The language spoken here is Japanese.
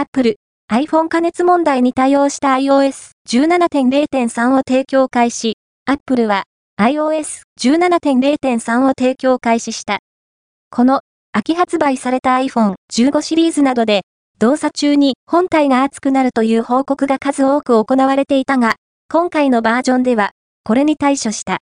Apple、iPhone 加熱問題に対応した iOS 17.0.3 を提供開始。Apple は iOS 17.0.3 を提供開始した。この秋発売された iPhone 15シリーズなどで動作中に本体が熱くなるという報告が数多く行われていたが、今回のバージョンではこれに対処した。